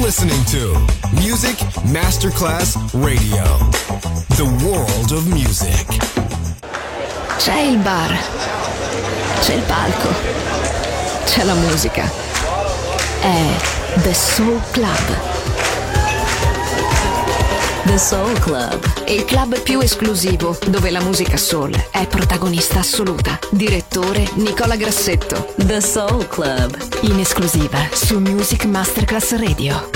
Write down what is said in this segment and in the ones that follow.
listening to Music Masterclass Radio. The world of music. C'è il bar, c'è il palco, c'è la musica. È The Soul Club. The Soul Club, il club più esclusivo dove la musica soul è protagonista assoluta. Direttore Nicola Grassetto. The Soul Club, in esclusiva su Music Masterclass Radio.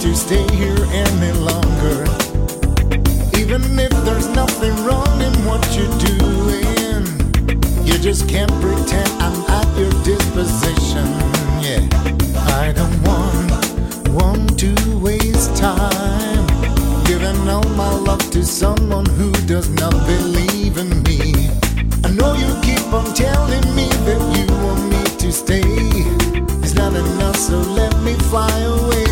to stay here any longer. Even if there's nothing wrong in what you're doing, you just can't pretend I'm at your disposition. Yeah, I don't want to waste time giving all my love to someone who does not believe in me. I know you keep on telling me that you want me to stay. It's not enough, so let me fly away.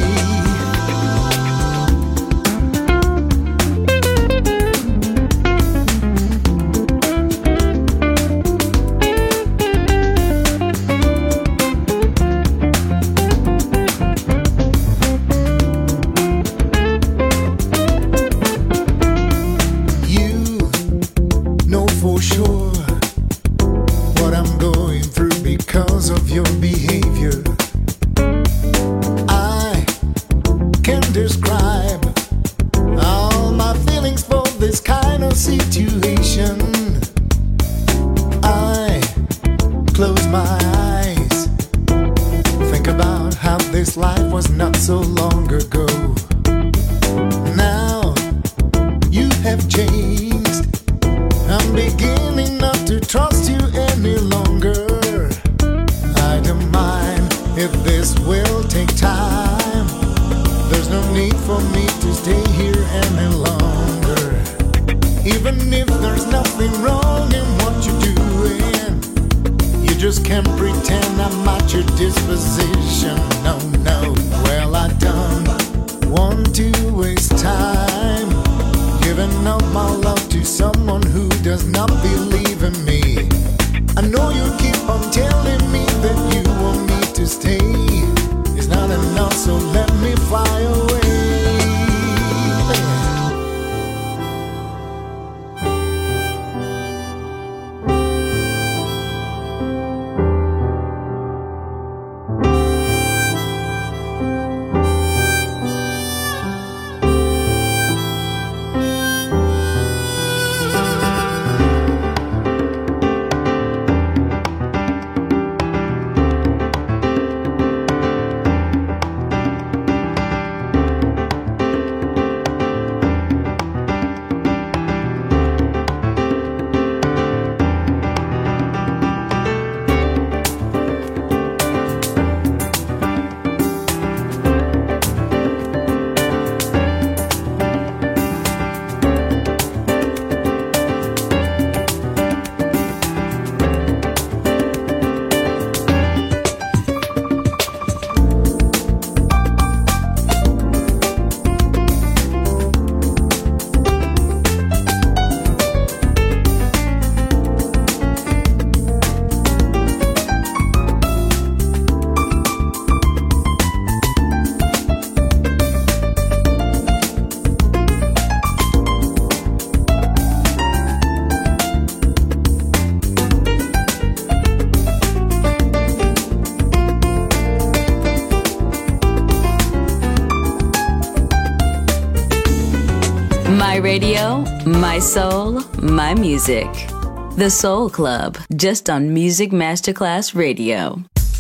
My radio, my soul, my music. The Soul Club, just on Music Masterclass Radio.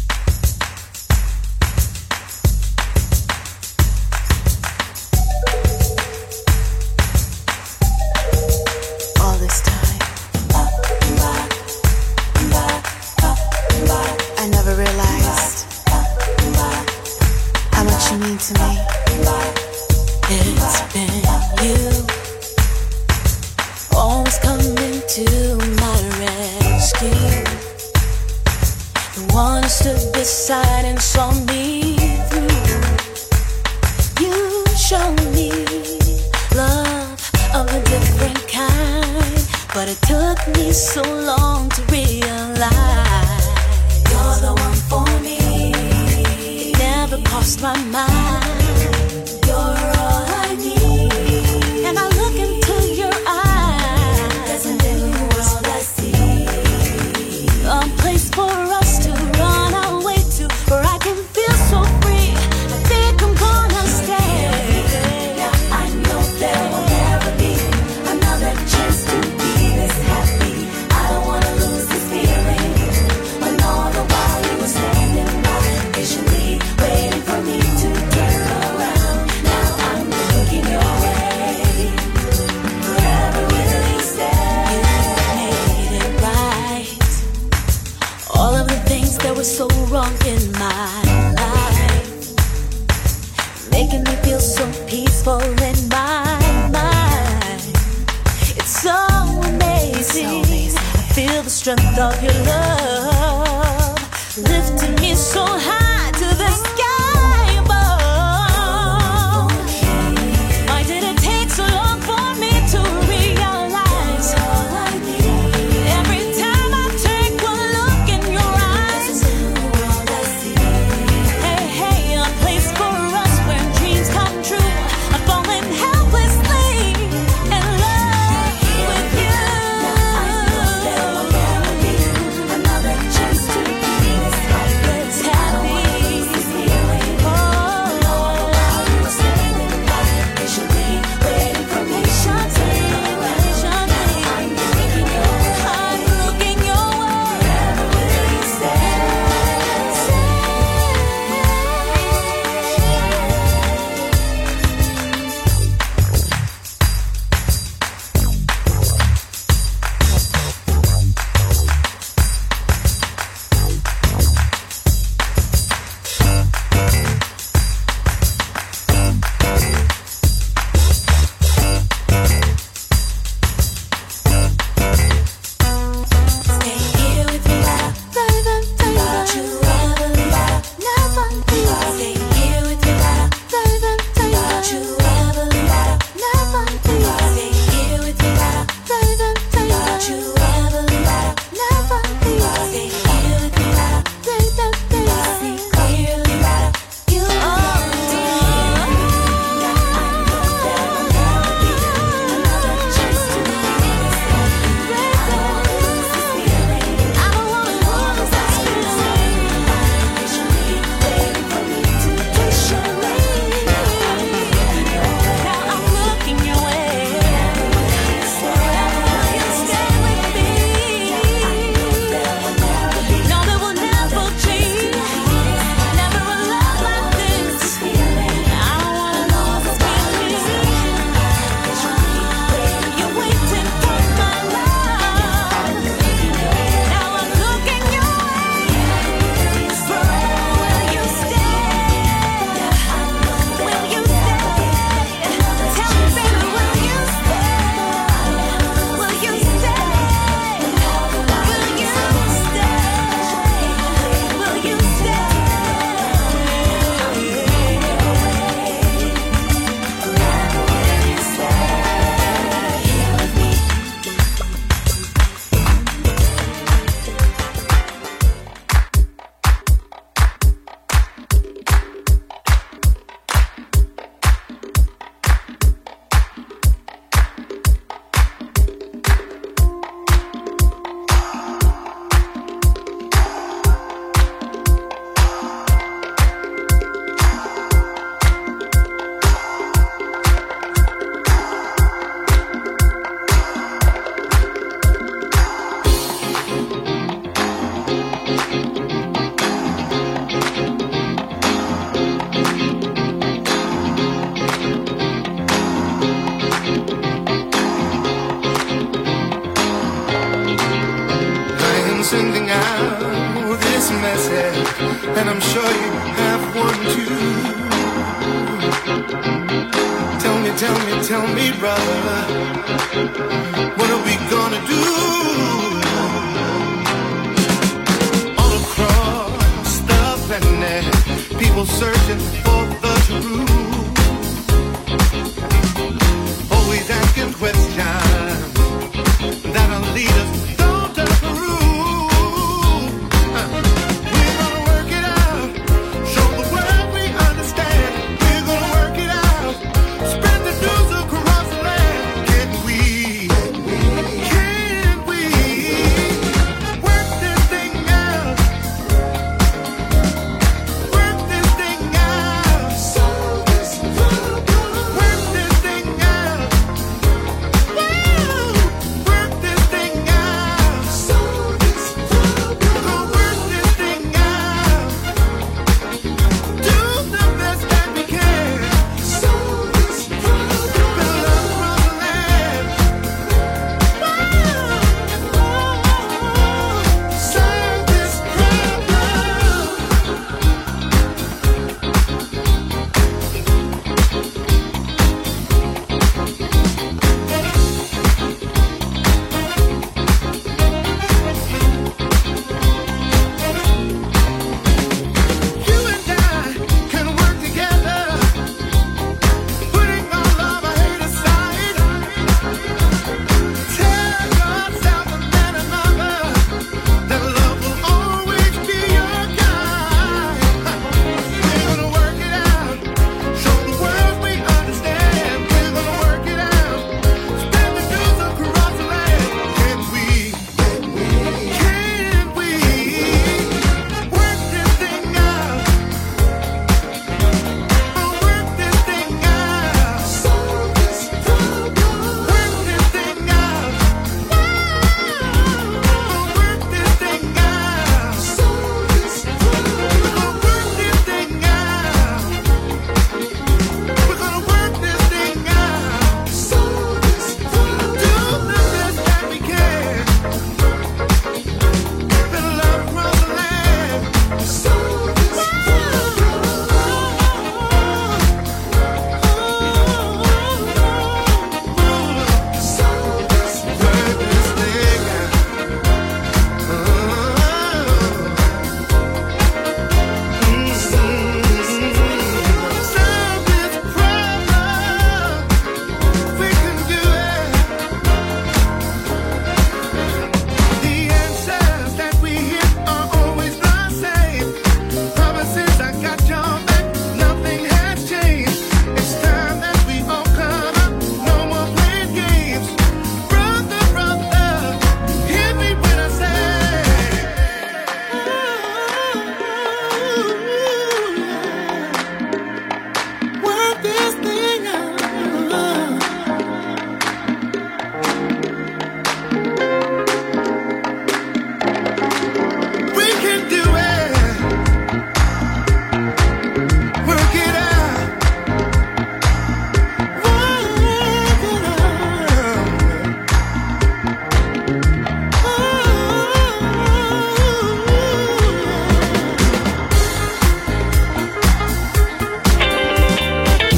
All this time, I never realized how much you mean to me. It's been you, always coming to my rescue. The one who stood beside and saw me through. You showed me love of a different kind, but it took me so long to realize you're the one for me. It never crossed my mind. You're all I need. And I look into your eyes. There's a new world I see. A place for us to run away to, where I can feel so free. I think I'm gonna stay. Now I know there will never be another chance to be this happy. I don't wanna lose this feeling. When all the while you were standing by, patiently waiting for me to turn around. making me feel so peaceful in my mind. It's so amazing. I feel the strength of your love, lifting me so high to the sky above. Why did it take so long for me to realize? Every time I take one look in your eyes, hey, hey, a place for us where dreams come true. I'm falling helplessly in love with you. There will never be another chance to be this happy. sending out this message, and I'm sure you have one too. Tell me, brother, what are we gonna do? All across the planet, people searching for the truth, always asking questions that'll lead us down to the root. We're gonna work it out, show the world we understand. We're gonna work it out, spread the news across the land. Can we work this thing out? Work this thing out.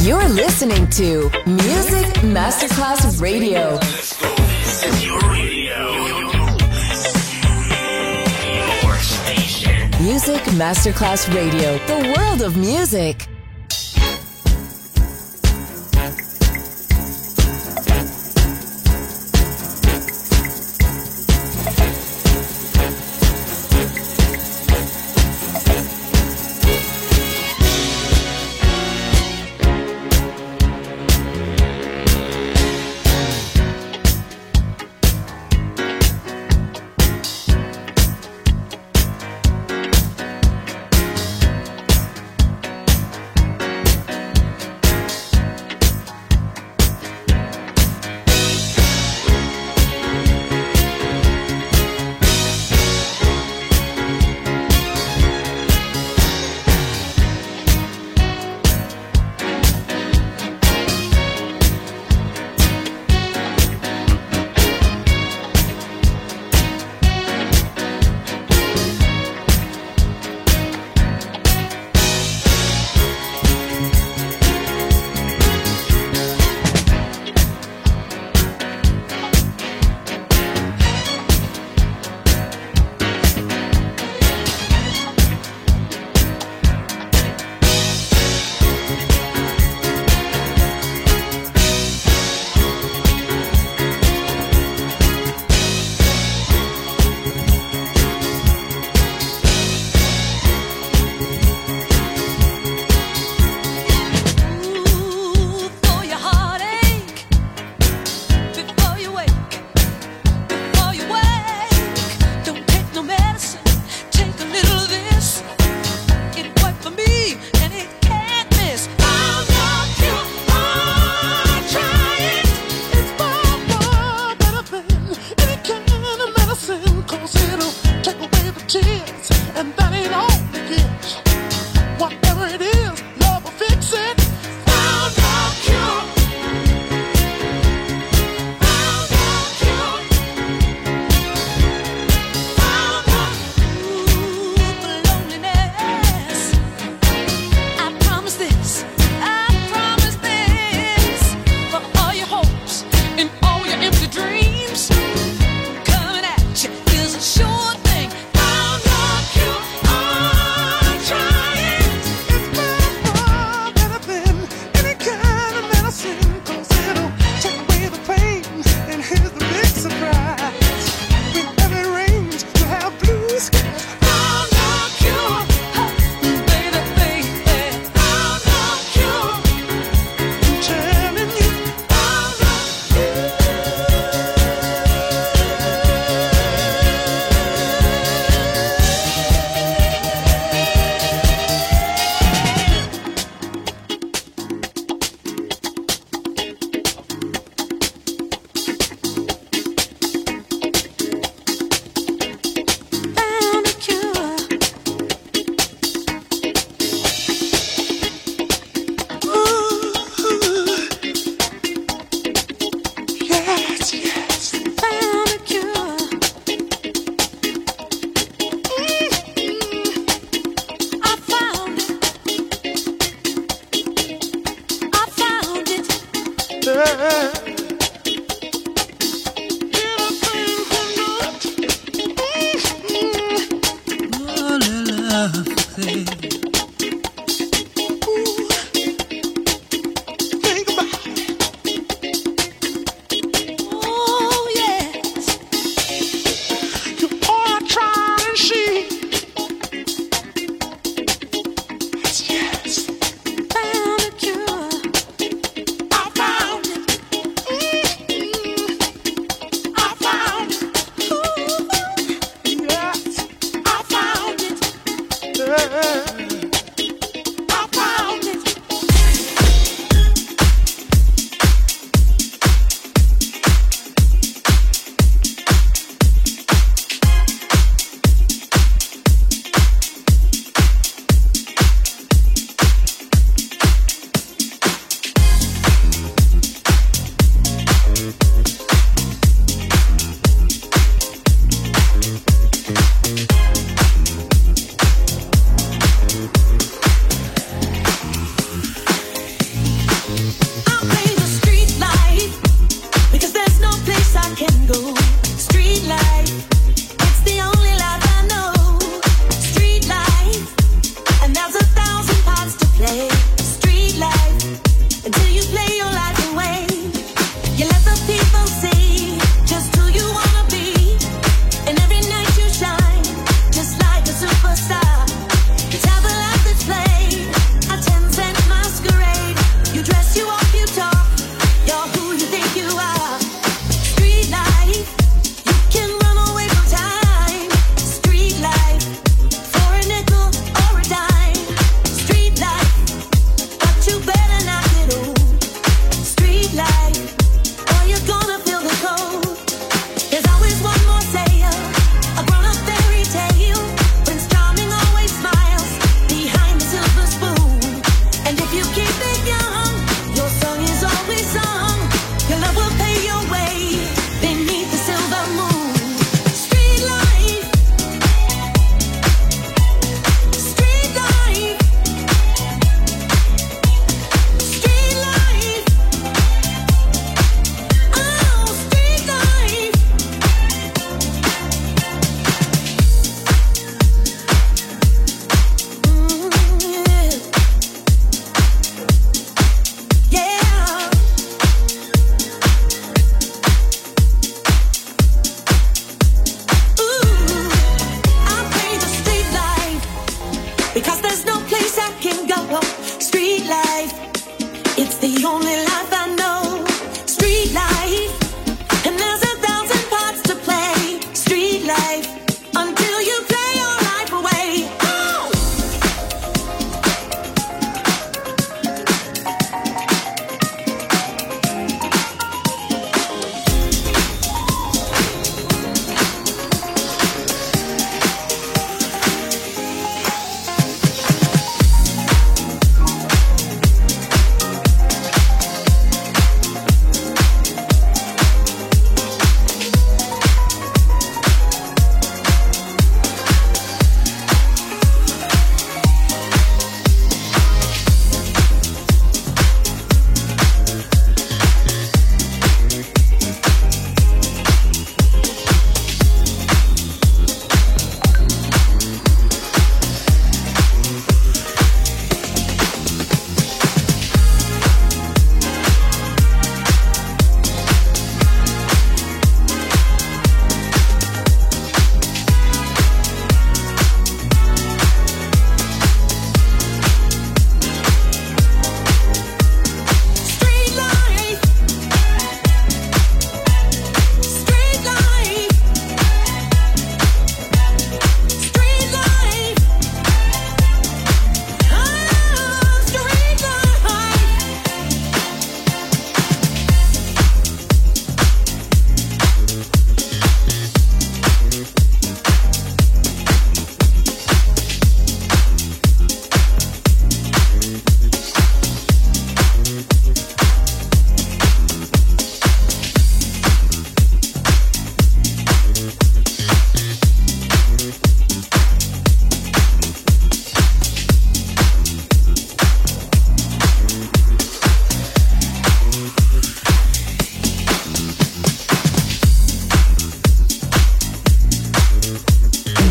You're listening to Music Masterclass Radio. This is your radio. Your station. Music Masterclass Radio. The world of music.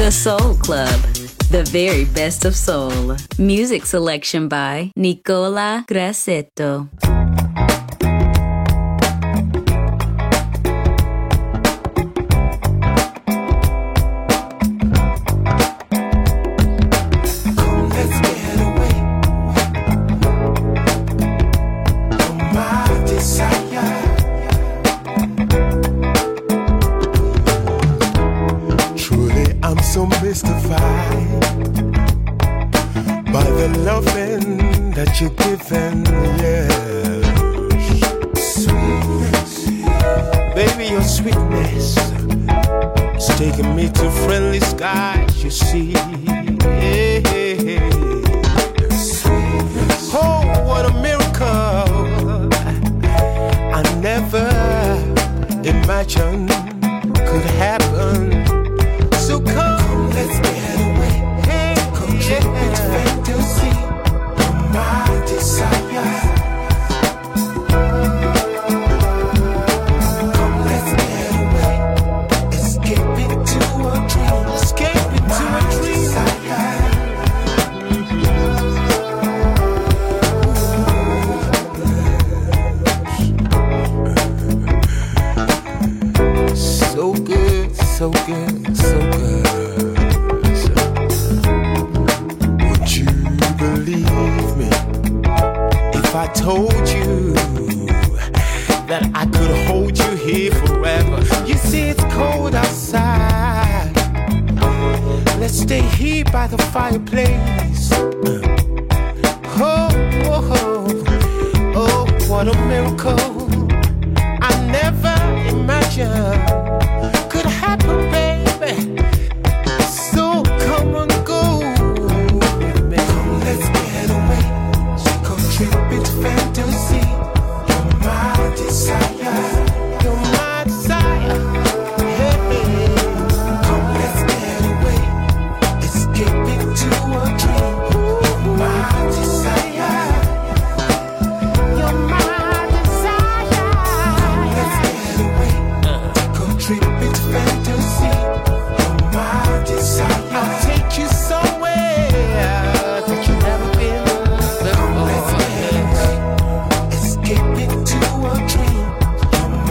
The Soul Club, the very best of soul. Music selection by Nicola Grassetto. So mystified by the loving that you're giving, yes. Sweetness, baby, your sweetness is taking me to friendly skies, you see. Yeah. Sweetness. Oh, what a miracle I never imagined could happen. So come, let's get away. Hey, come trip with fantasy. You're my desire. Come, let's get away. Escape into a dream. Escape into a dream. So good, so good, so good. Would you believe me if I told you that I could hold you here forever? You see it's cold outside. Let's stay here by the fireplace. Oh, oh, oh, oh, what a miracle I never imagined could happen, baby. So come on, go with me. Come, let's get away. Come trip with fantasy. You're my desire. You're my desire. Hey, hey. Come, let's get away. Escape into a dream. You're my desire. You're my desire. Come, let's get away. Come trip with fantasy. You're my desire. I'll take you somewhere that you've never been before. Come, let's get away. Escape into a dream. You're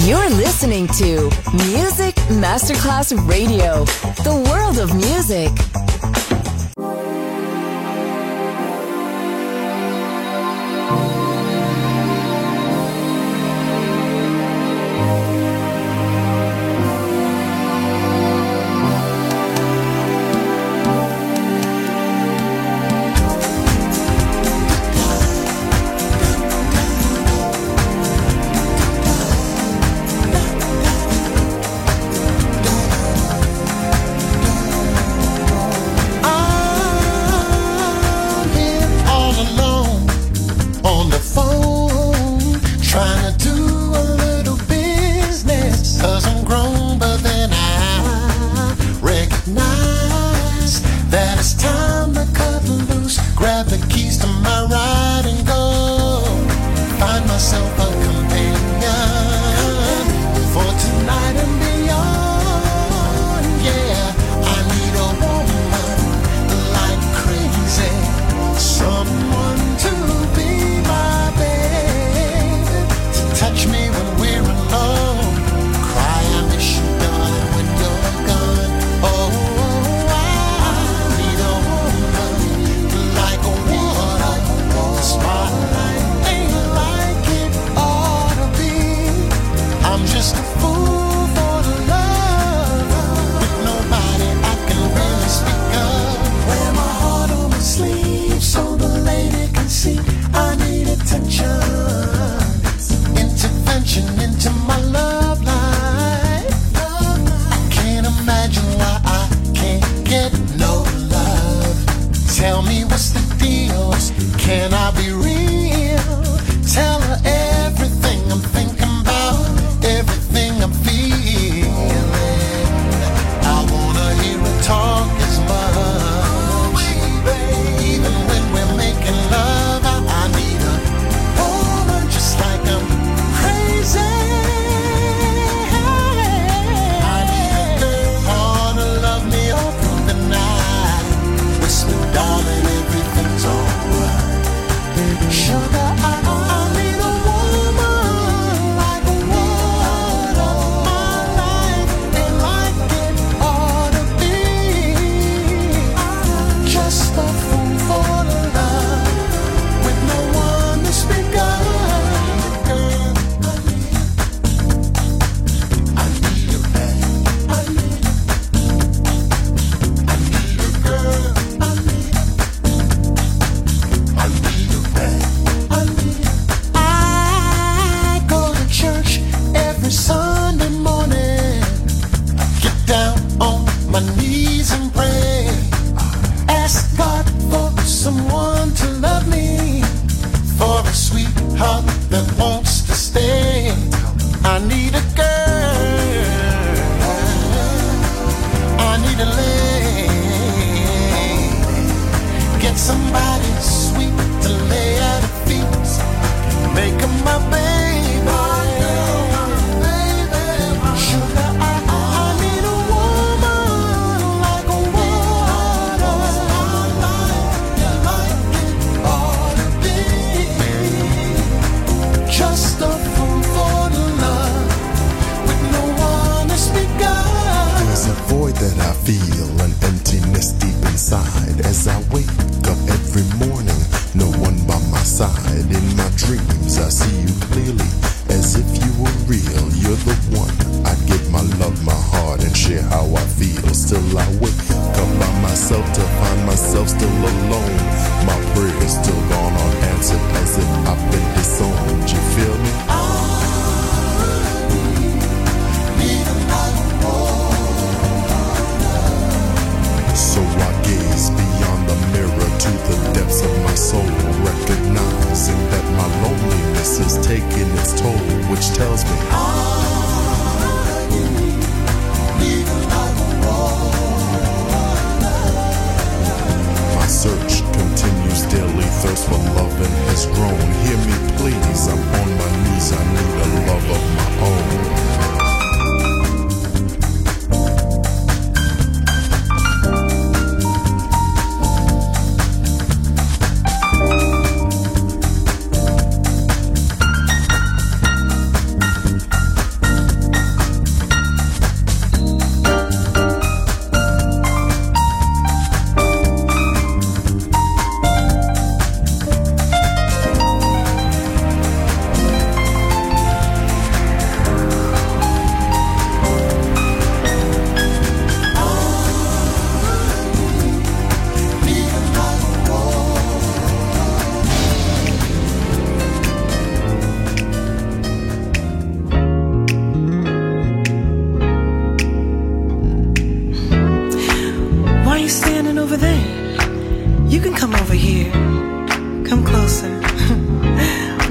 You're listening to Music Masterclass Radio, the world of music.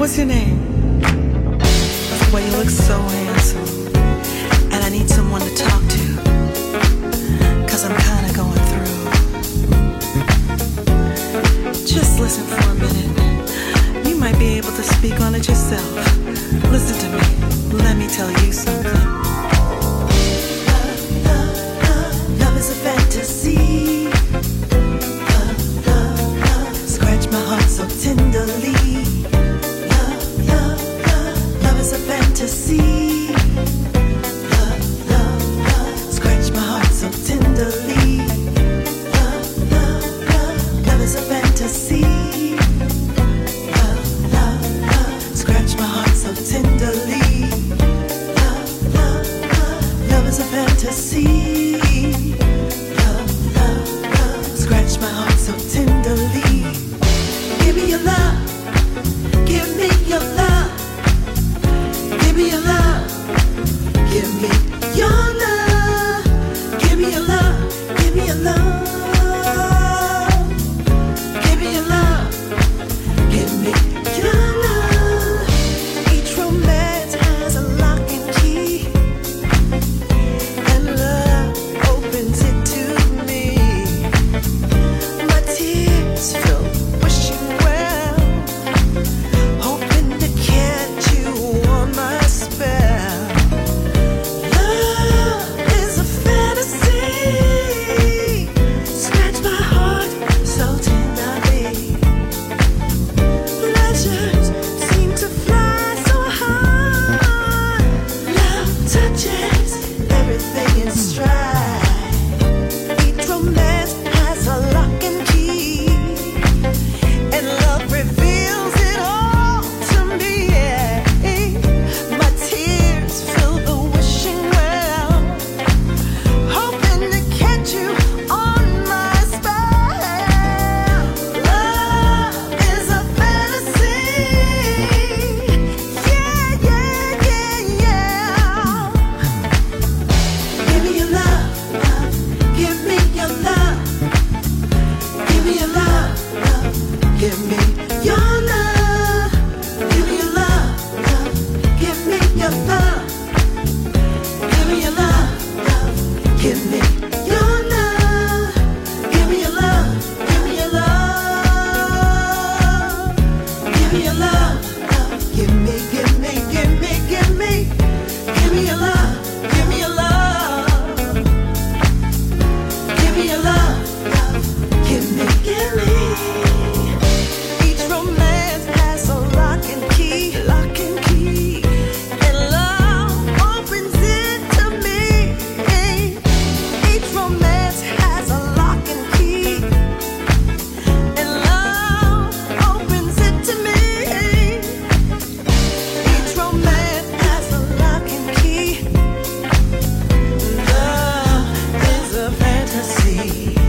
What's your name? Well, you look so handsome, and I need someone to talk to, 'cause I'm kinda going through. Just listen for a minute. You might be able to speak on it yourself. Listen to me. Let me tell you something. Love is a fantasy. Scratch my heart so tenderly. Love is a fantasy. Scratch my heart so tenderly. Love is a fantasy. Scratch my heart so tenderly. Love is a fantasy. Scratch my heart so tenderly. Give me your love. Give me your love. Give me your love. Give me your love. Give me your love. Give me your love. Give me your love. Give me your love. Each romance has a lock and key, and love opens it to me. My tears fill, wishing well, hoping to catch you on my spell. Love is a fantasy. Scratch my heart so tenderly. Pleasures seem to fly so high. Love touches everything in stride. Each romance has a lock and key, and love reveals it all to me. My tears fill the wishing well, hoping to catch you on my spell. Love is a fantasy. Yeah, yeah, yeah, yeah. Give me your love. Give me your love. Give me your love. Give me your love. Give me your love. Give me your love. Give me your love. Give me your love. Give me your love. Give me your love. Give me your love. Give me, give me, give me, give me. Give me your love. Give me your love. Give me your love. Give me, give me. Each romance has a lock and key, and love opens it to me. Each romance has a lock and key, and love opens it to me. Each romance has a lock and key. Love is a fantasy.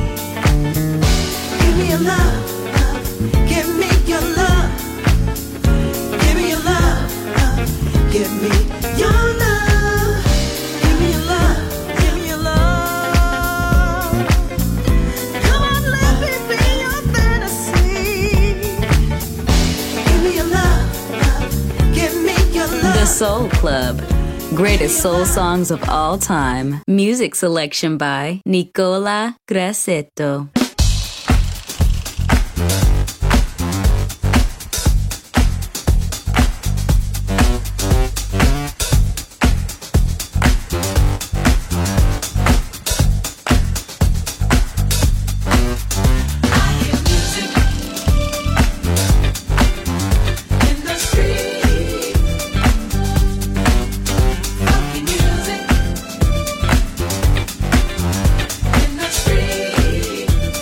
Give me your love. Give me your love. Give me your love. Give me your love. Give me your love. Give me your love. Come on, let me be your fantasy. Give me your love. Give me your love. The Soul Club. Greatest soul songs of all time. Music selection by Nicola Grassetto. In the street,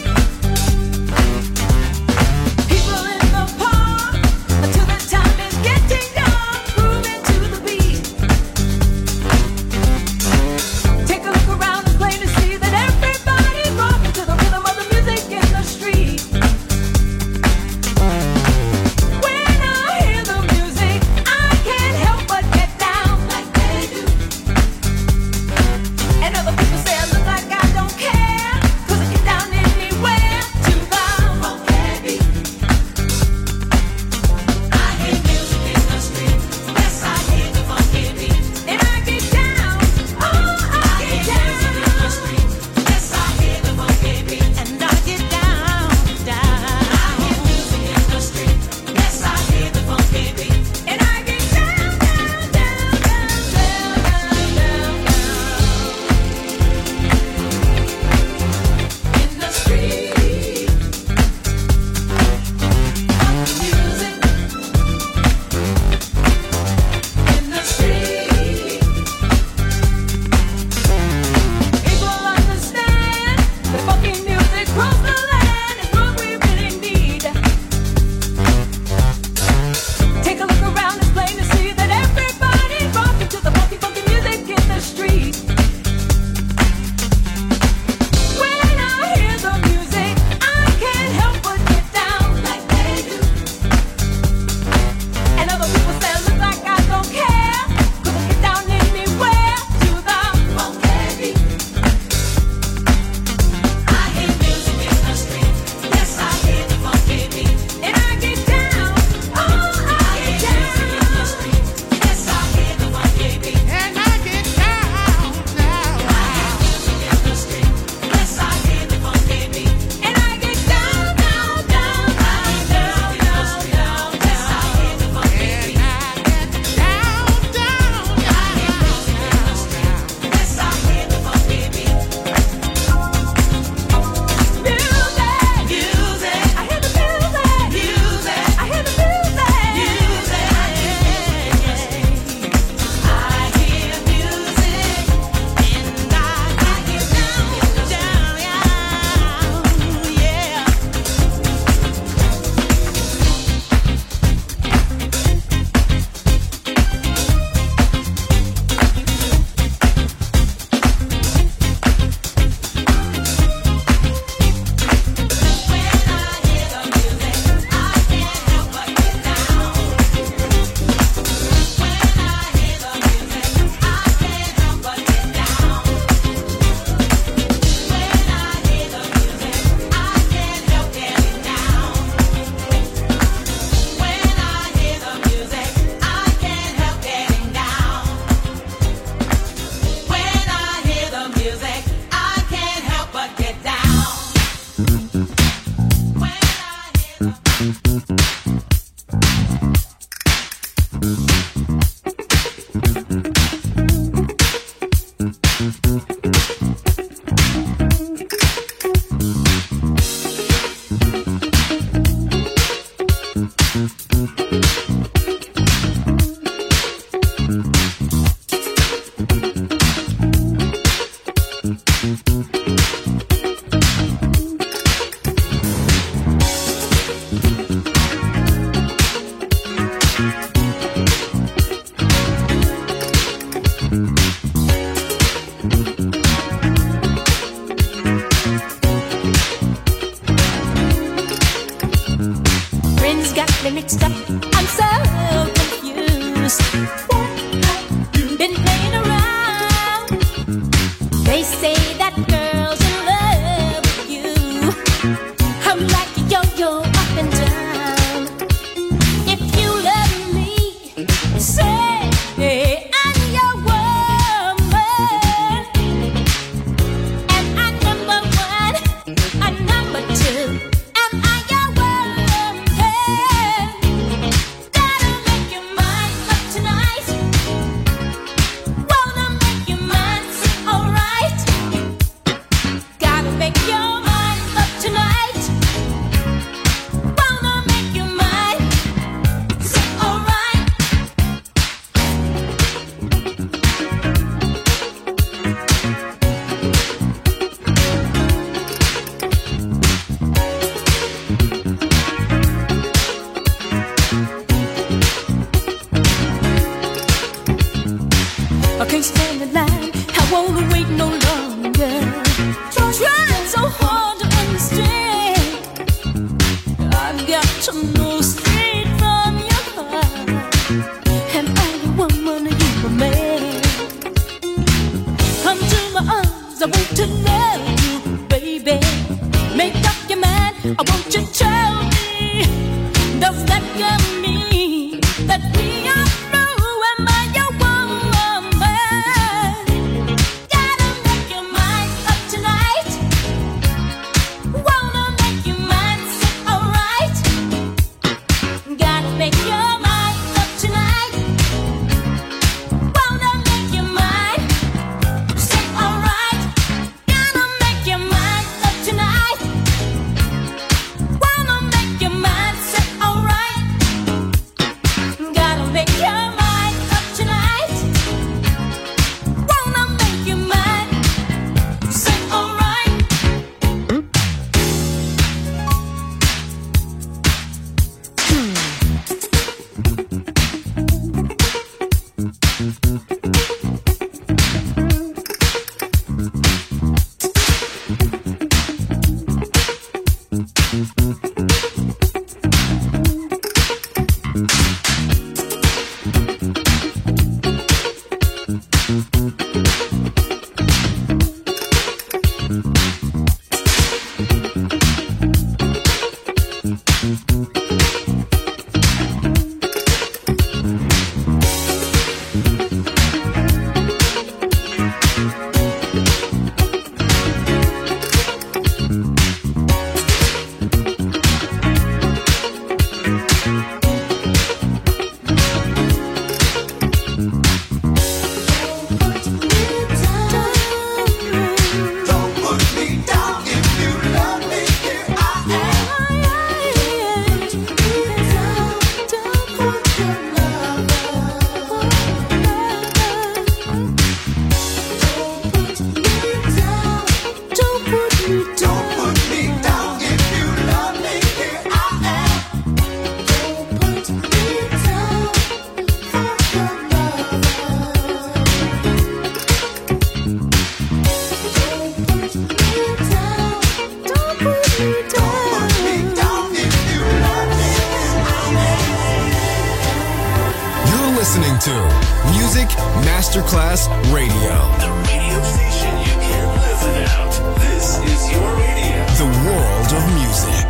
listening to Music Masterclass Radio. The radio station you can't live without. This is your radio. The world of music.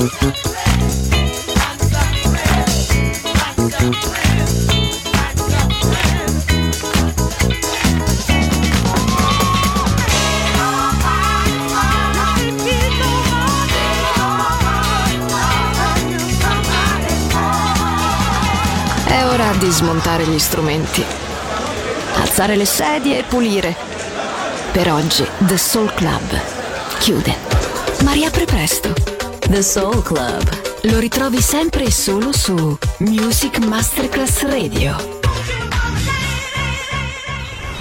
È ora di smontare gli strumenti, alzare le sedie e pulire. Per oggi The Soul Club chiude, ma riapre presto. The Soul Club Lo ritrovi sempre e solo su Music Masterclass Radio.